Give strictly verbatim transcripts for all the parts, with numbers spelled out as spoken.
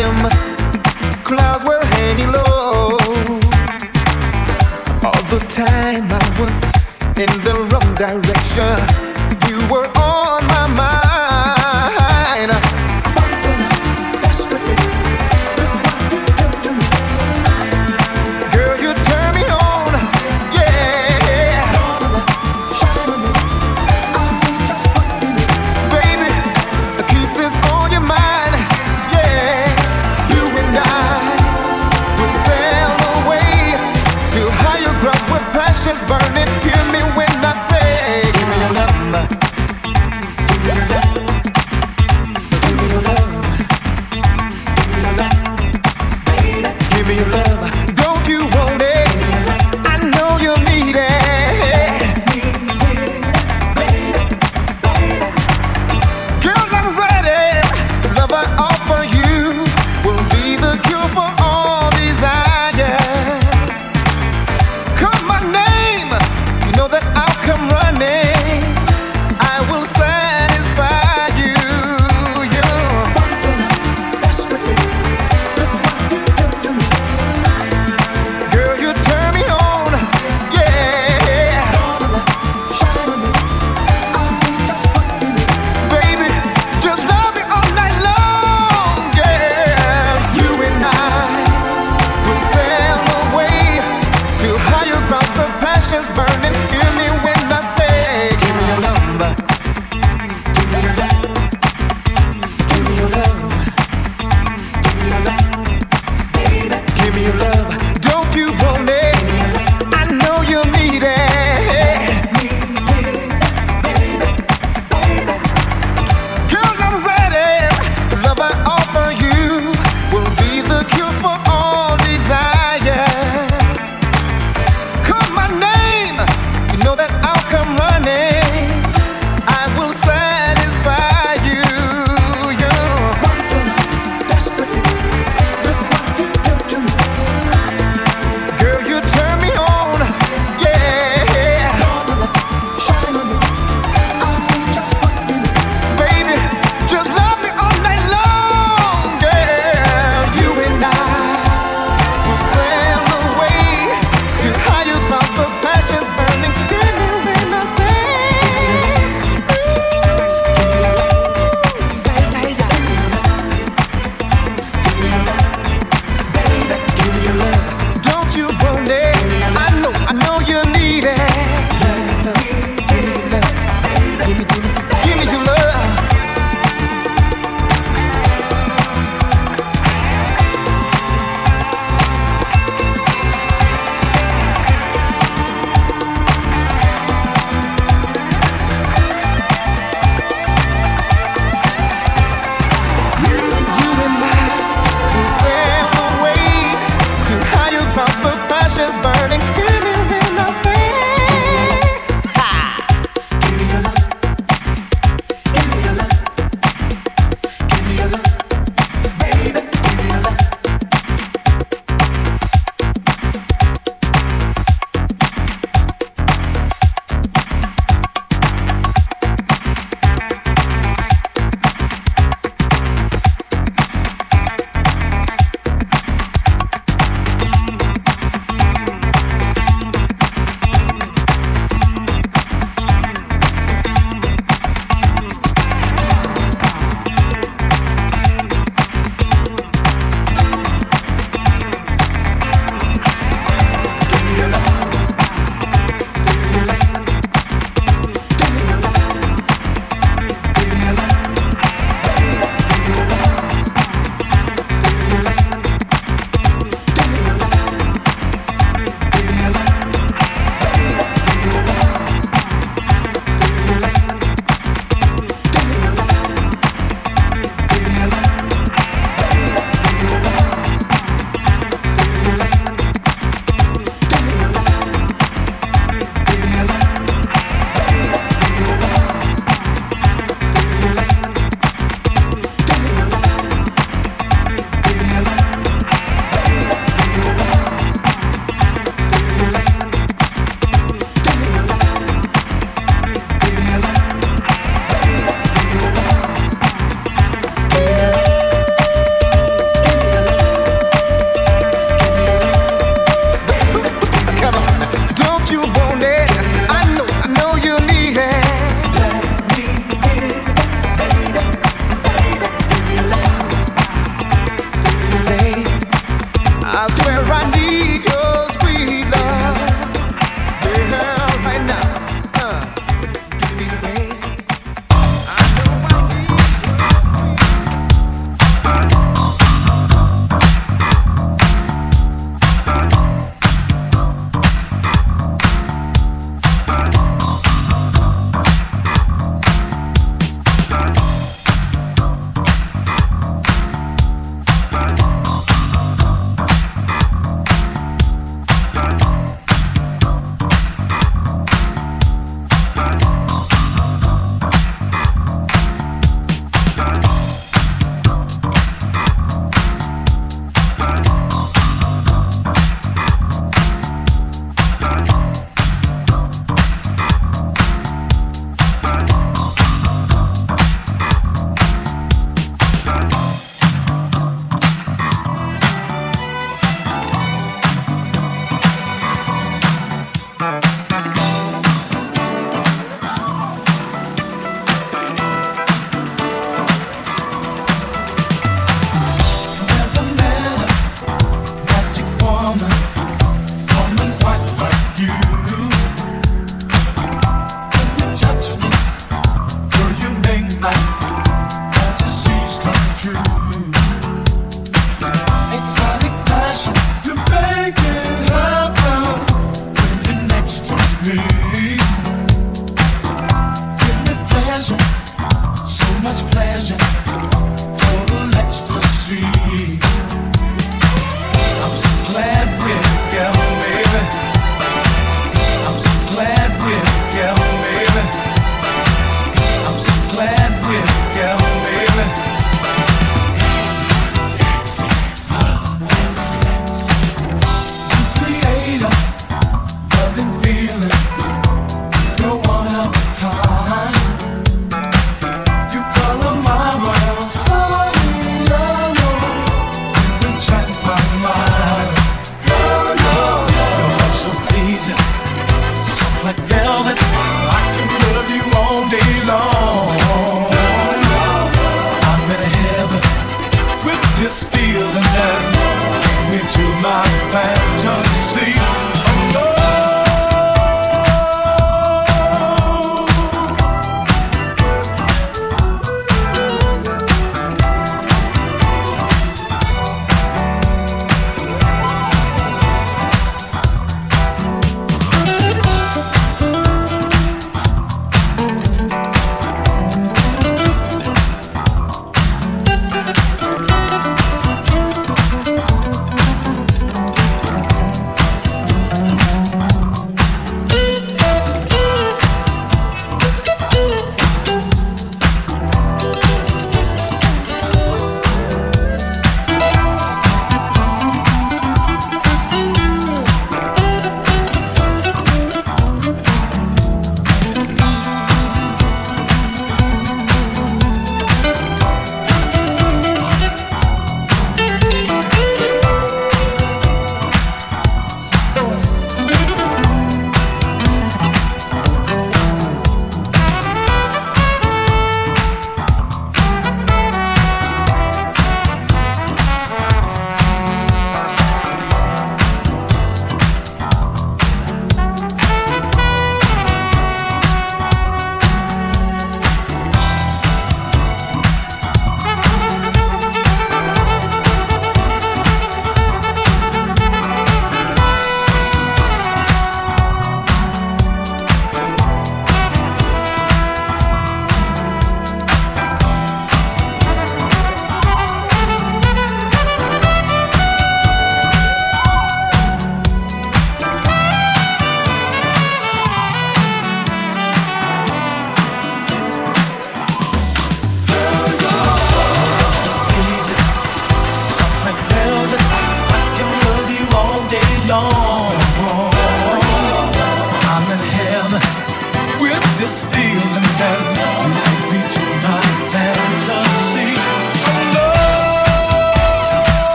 them clouds were hanging low. All the time I was in the wrong direction. You were on my mind. Girl, you turn me on, yeah. Baby, keep this on your mind, yeah. You and I will sail away to higher grounds where passion's burning. Hear me when I say, give me your number. Give me your love. Give me your love. Give me your love. Don't you want it? I know you need it. Girl, I'm ready. The love I offer you will be the cure for all desire. Call my name, you know that I'll come running. I will satisfy you. Girl, you turn me on, yeah. Baby, just love me all night long, yeah. You and I will sail away to higher grounds where passion's burning. Hear me when I say, give me your number. Give me your love. Give me your love. Give me your love. Baby, give me your love. Don't you want it? I know you need it. Girl, I'm ready. The love I offer you will be the cure for all desire. Call my name, you know that I'll come running. I will satisfy you. Girl, you turn me on, yeah. Baby, just love me all night long, girl. You and I will sail away to higher grounds where passion's burning. Hear me when I say, give me your love. Don't you want it? I know, I know you need it. Give me love. Give me, give me, give me your love. You and I will sail away to higher grounds where passion's burning. Hear me when I say, ha! Give me your love. Give me your love. Give me your love. Baby, give me your love.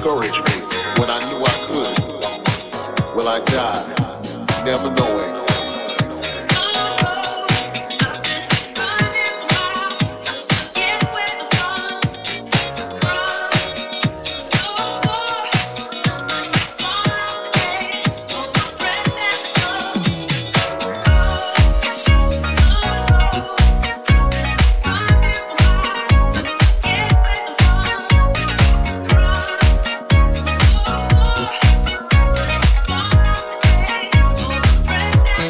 discouraged me when I knew I could. Will I die, never knowing? Breath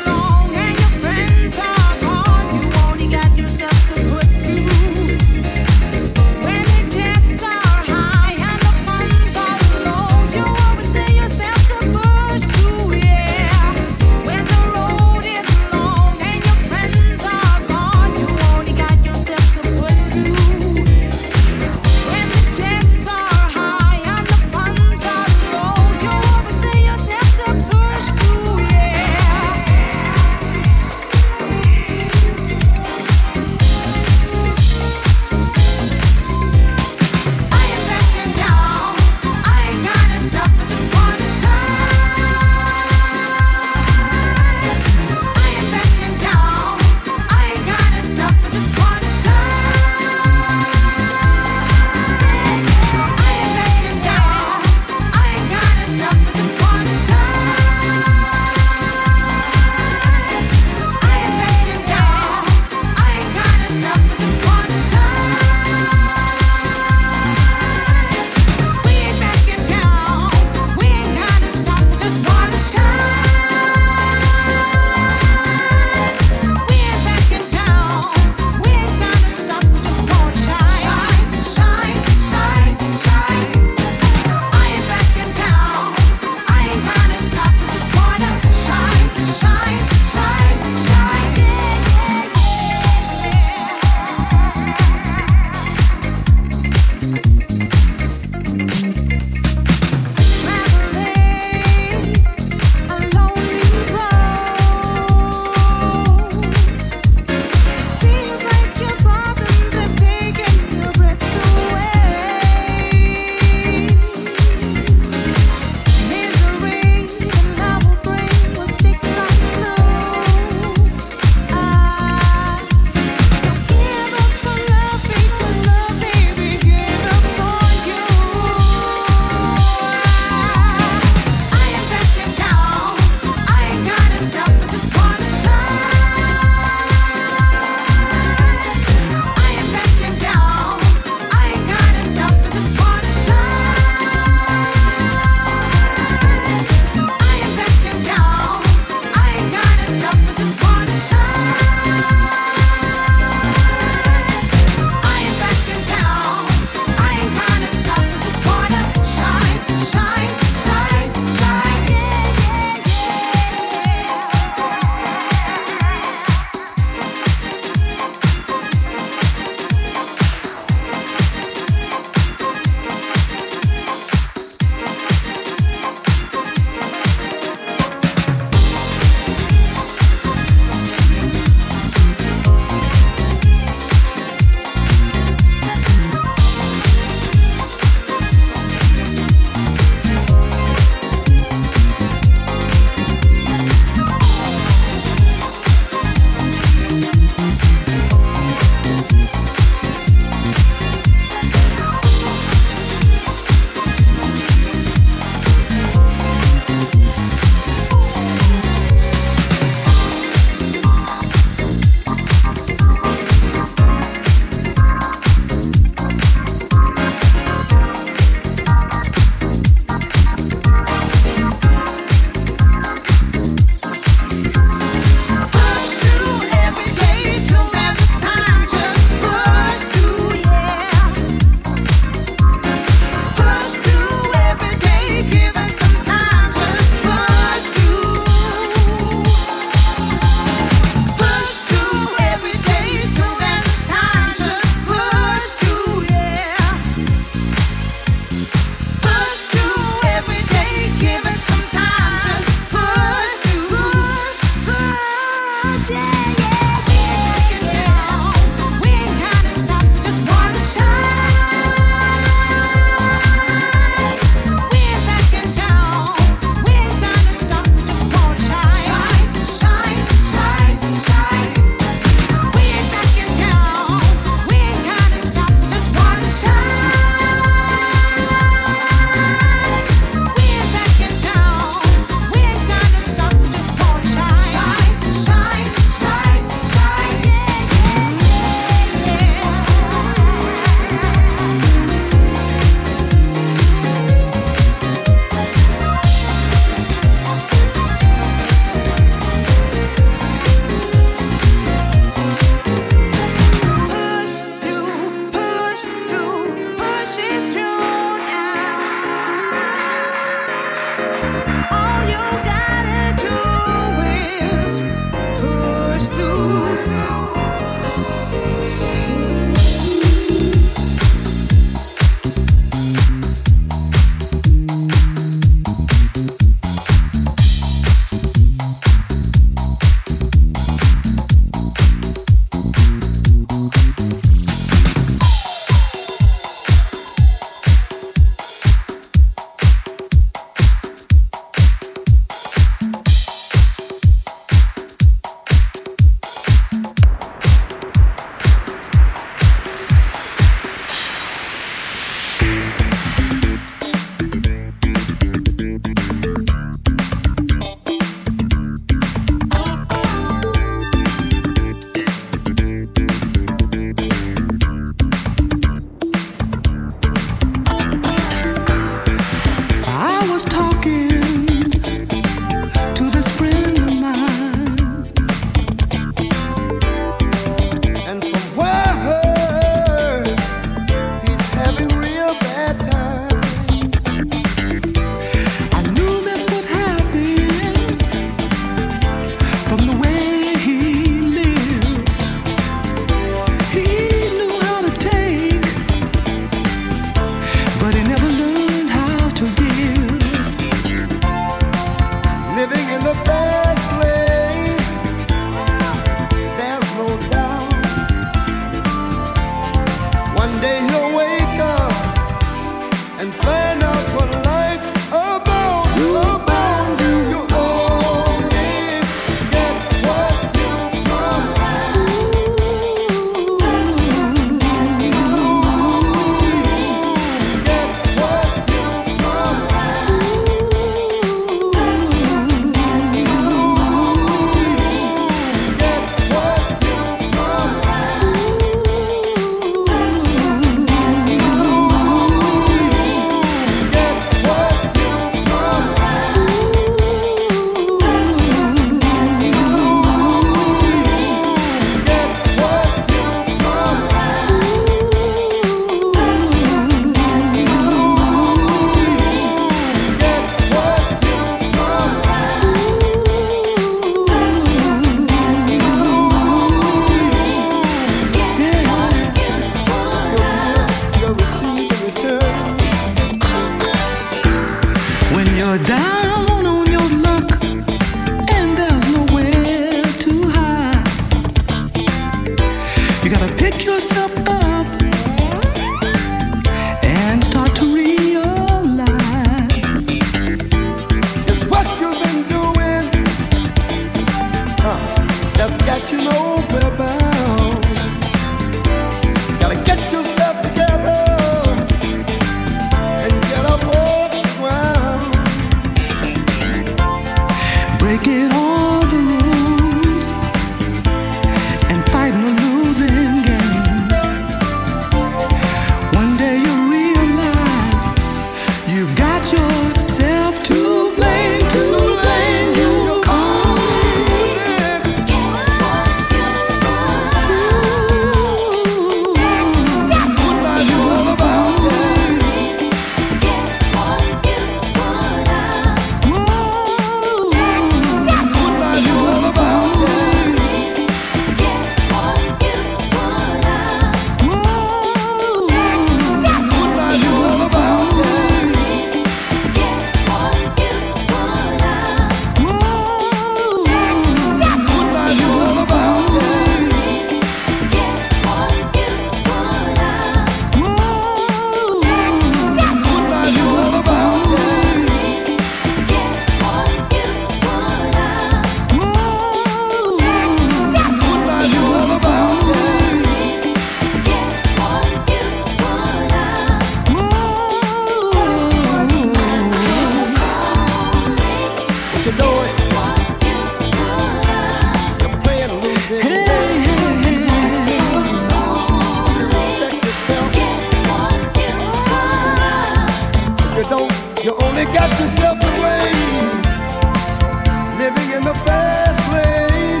you don't, you only got yourself to blame. Living in the fast lane,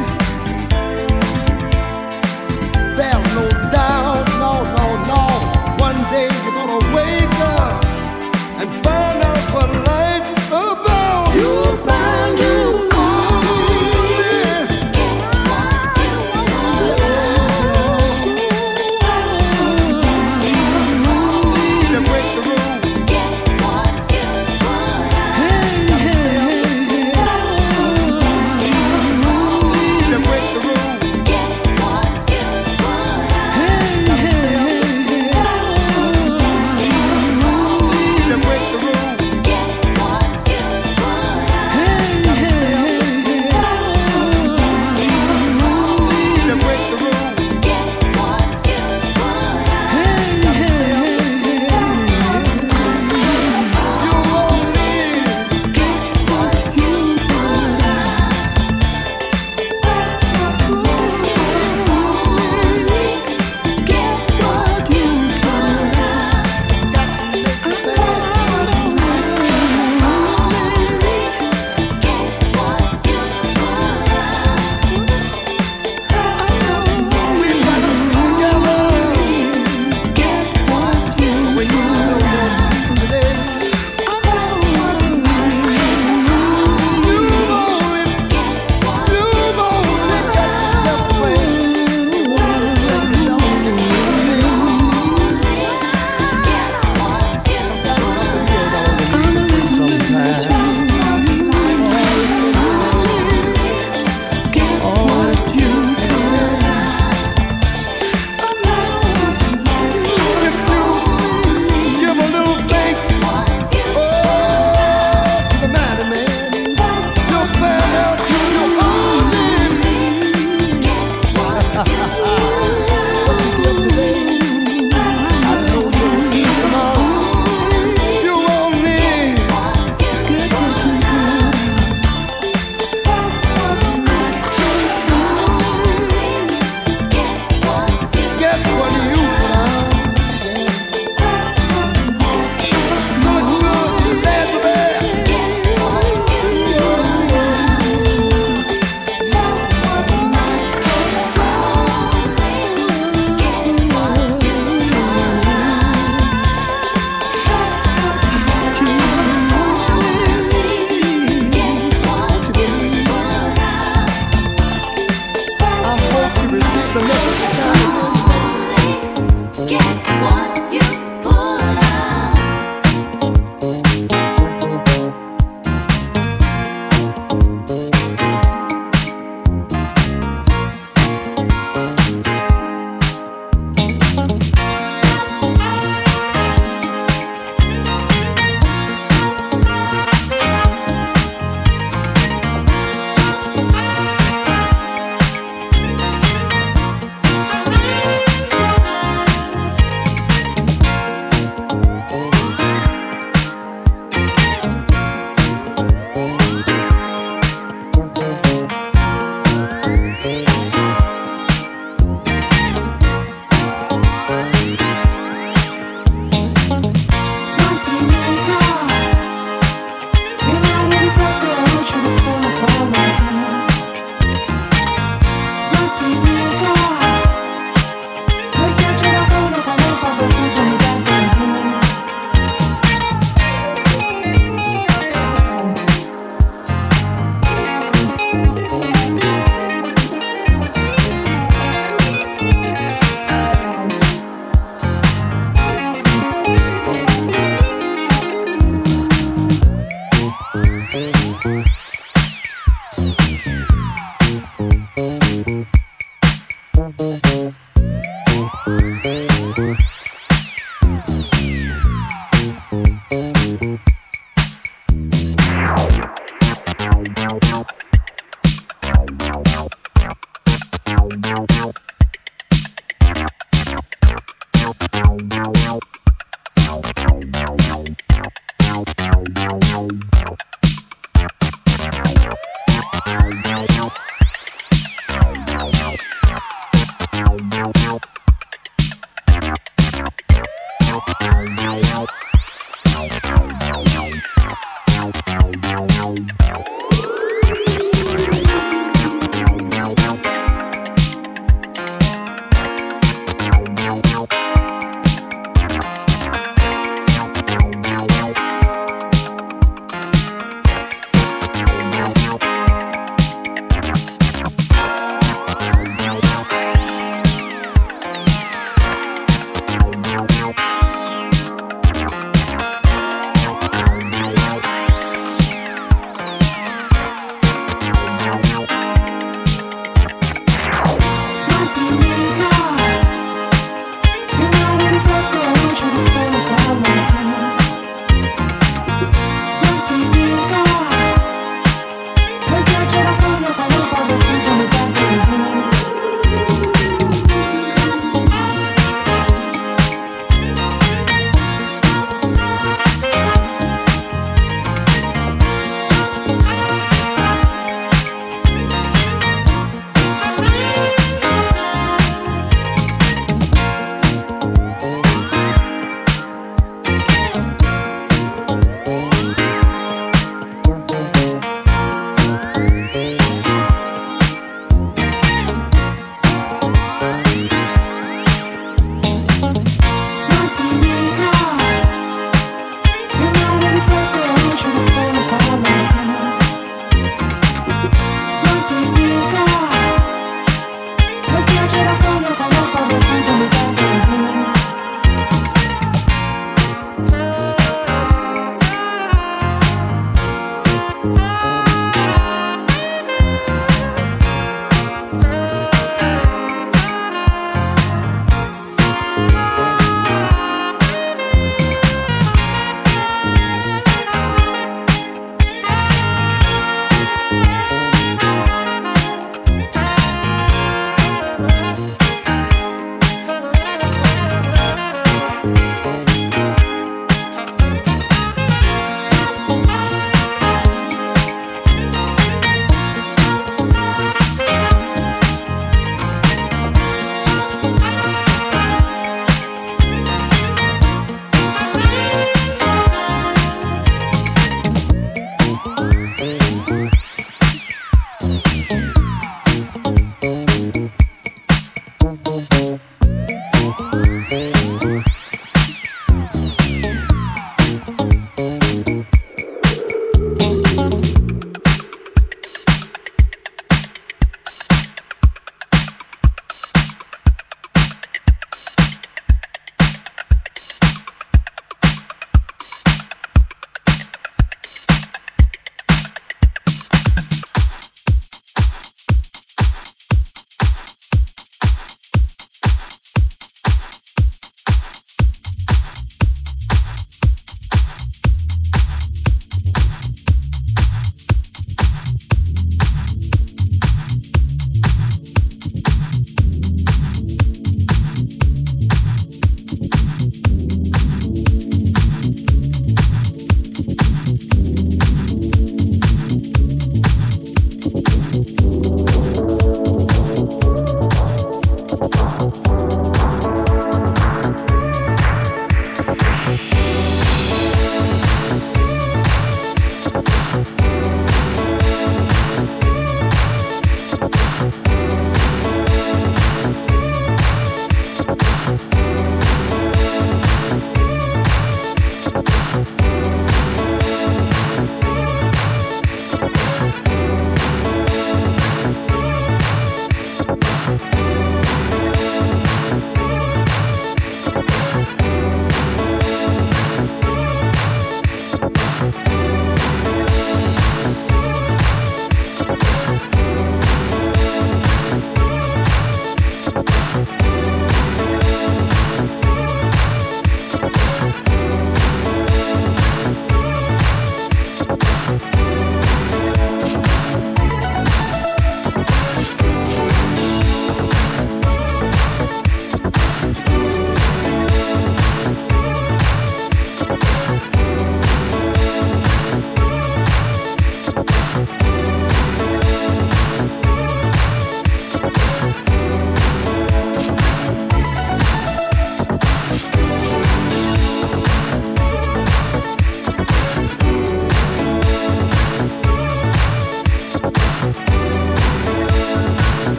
there's no doubt, no, no, no. One day you're gonna wake up and find out what life's about. You'll find you.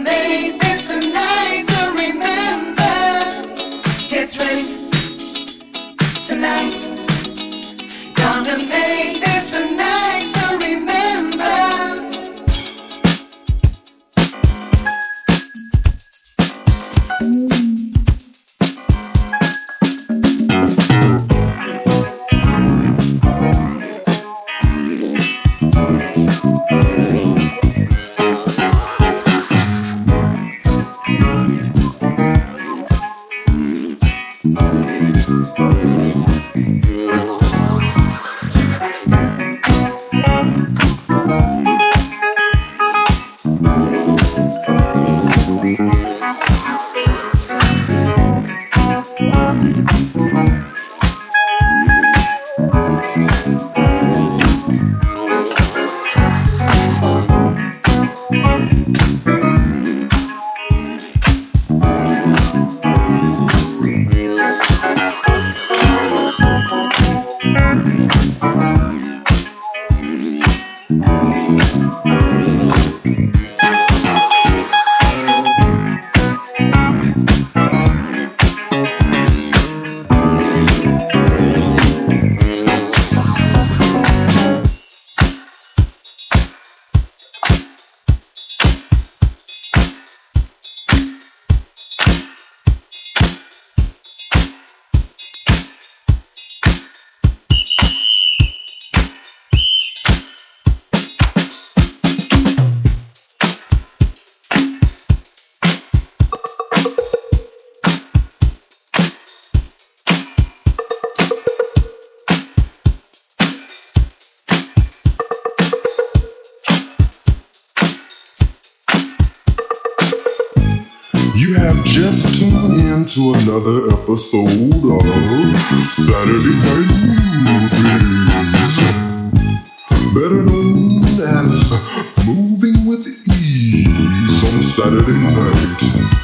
make this a night to remember. Get ready tonight. Gonna make this a night to remember. You have just tuned in to another episode of Saturday Night Movies, better known as Moving with Ease on Saturday night.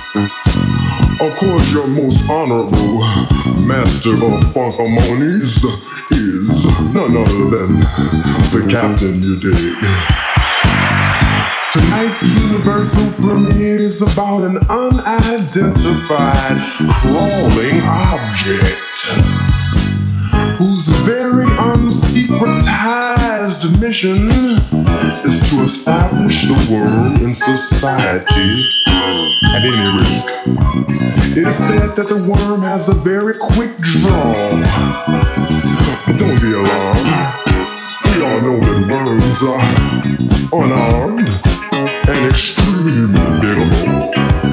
Of course, your most honorable master of funk harmonies is none other than the Captain, you dig. Tonight's universal premiere is about an unidentified crawling object whose very unsecretized mission is to establish the worm in society at any risk. It is said that the worm has a very quick draw. But don't be alarmed. We all know that worms are unarmed and extremely biddable.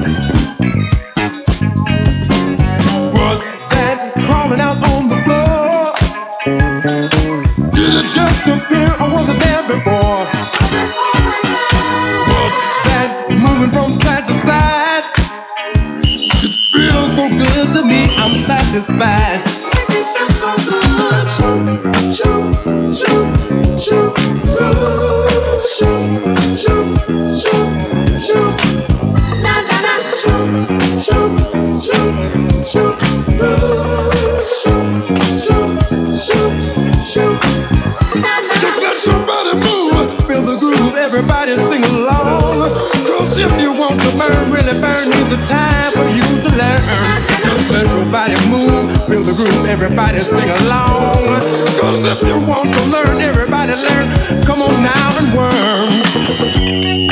But that crawling out on the floor, did it just appear or was it there before? But that moving from side to side, it feels so good to me, I'm satisfied. It feels so good. Shoot, shoot, shoot, shoot, shoot, shoot, shoot, shoot, na na na, shoot, shoot, shoot, shoot, shoot, shoot, shoot, shoot, na na. Just let your body move, feel the groove, everybody sing along. Cause if you want to burn, really burn, is the time for you to learn. Just let your body move, feel the groove, everybody sing along. Cause if you want to learn, everybody learn. Come on now and worm.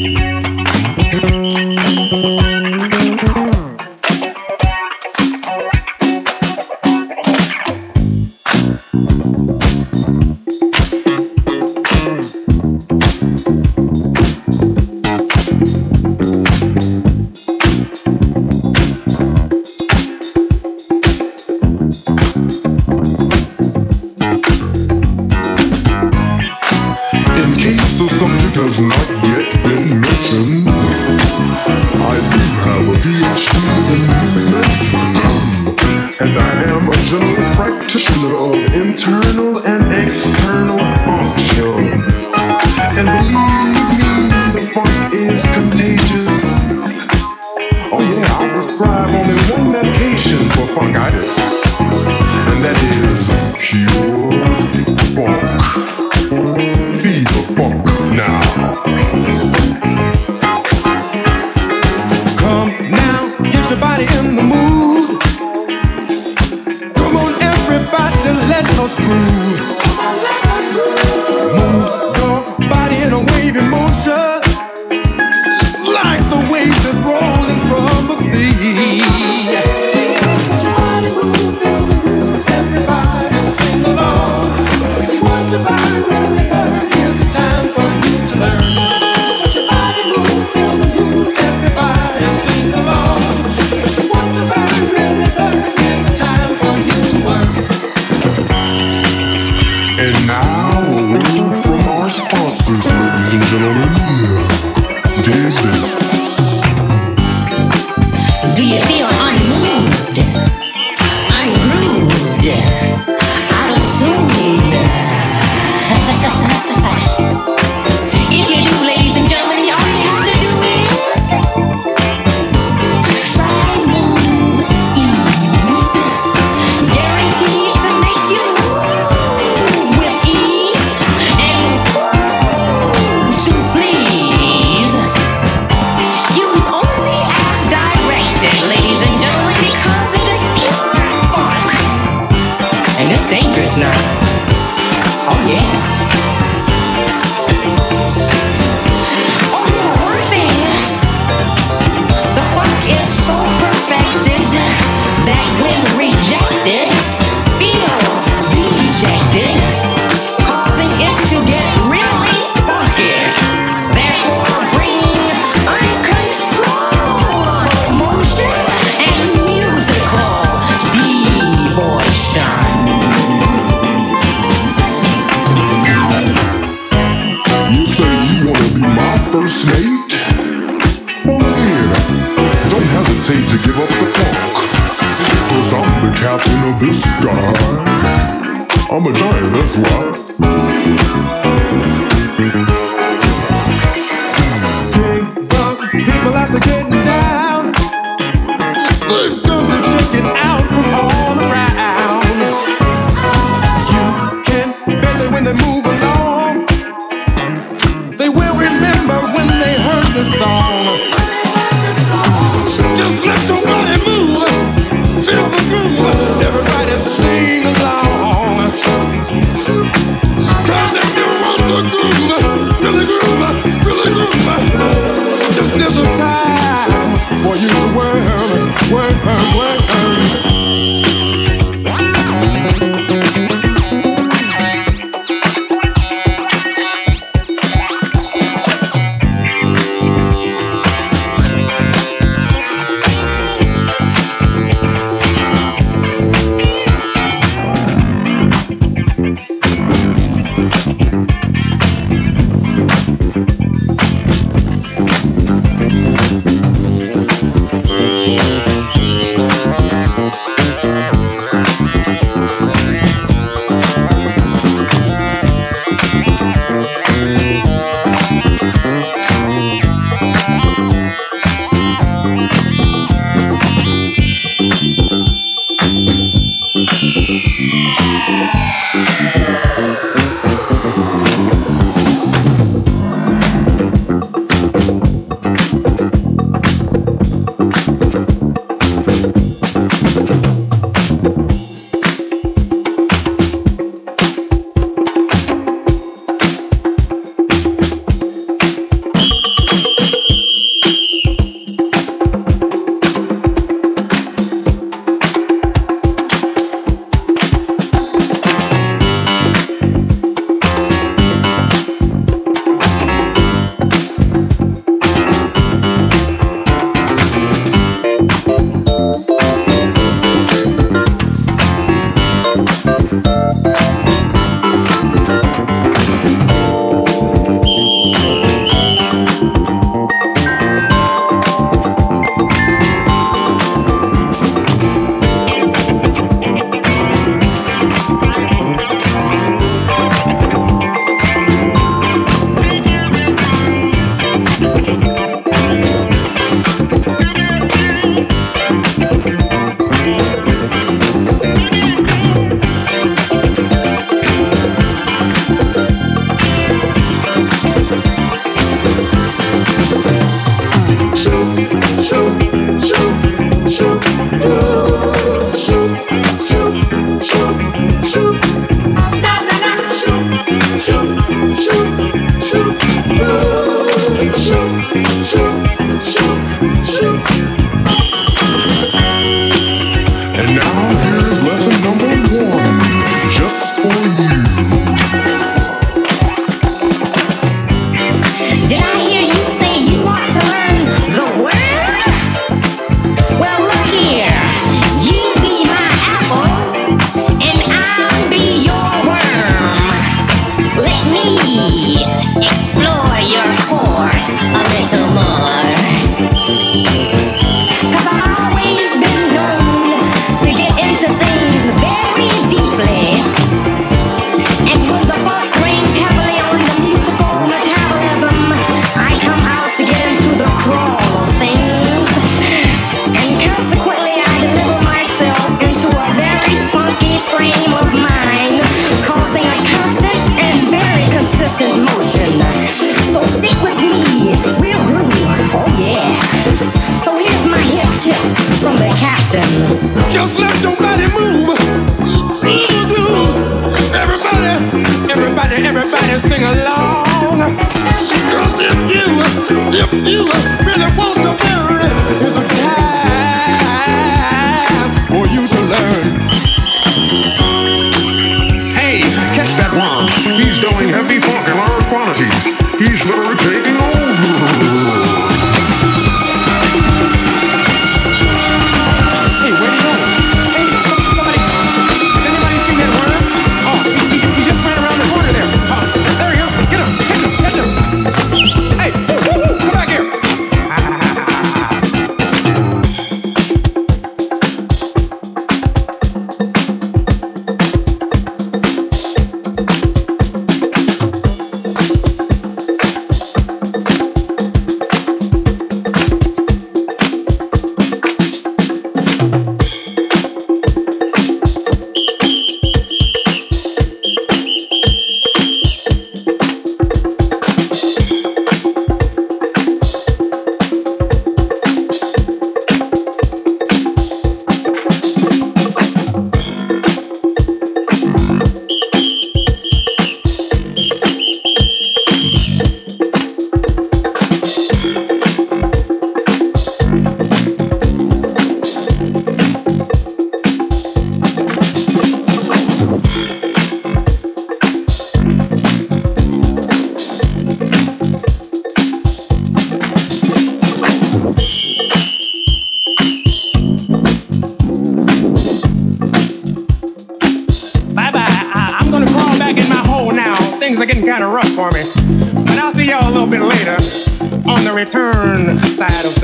Has not yet been mentioned. I do have a P H D in music, and I am a general practitioner of internal and external function. And believe me, the funk is contagious. Oh yeah, I prescribe only one medication for funkitis, and that is pure funk. Be the funk now. everybody in the mood. Come on, everybody, let us groove. Move your body in a wavy motion, like the waves that's rolling from the sea. Everybody sing along. If you want to burn, really burn, here's the time for you to learn. Just your body move, feel the groove. Everybody sing along. If you want to burn, really burn, here's the time for you to learn. And now a word from our sponsors, ladies and gentlemen. Dig this. Do you feel unmoved, ungrooved, out of tune? If you do, ladies and gentlemen, all you have to do is try, move, ease, guaranteed to make you move with ease and groove to please. Use only as directed, ladies and gentlemen, because it is pure funk. And it's dangerous now. Oh yeah. Oh yeah, one thing. The funk is so perfected that when rejected, feels dejected, causing it to get really funky. Therefore, bringing uncontrollable motion and musical devotion. You say you wanna be my first mate? Well, here, don't hesitate to give up the funk. Cause I'm the captain of this guy. I'm a giant, that's why. People as they're getting down, they've come to check it out from all around. You can bet that when they move along, they will remember when they heard the song. Just let your body move, feel the groove, everybody sing along. Cause if you want to tip from the captain. Just let your body move. Everybody, everybody, everybody sing along. Cause if you, if you really want to burn, it's a time for you to learn. Hey, catch that one. He's doing heavy funk in large quantities. He's literally taking over. Hey, where you going? Hey, somebody, has anybody seen that worm? Oh, he, he, he just ran around the corner there. Oh, there he is. Get him, catch him, catch him. Hey, woo, woo, woo, come back here. Things are getting kind of rough for me. But I'll see y'all a little bit later on the return side of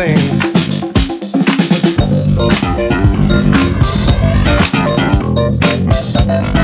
things.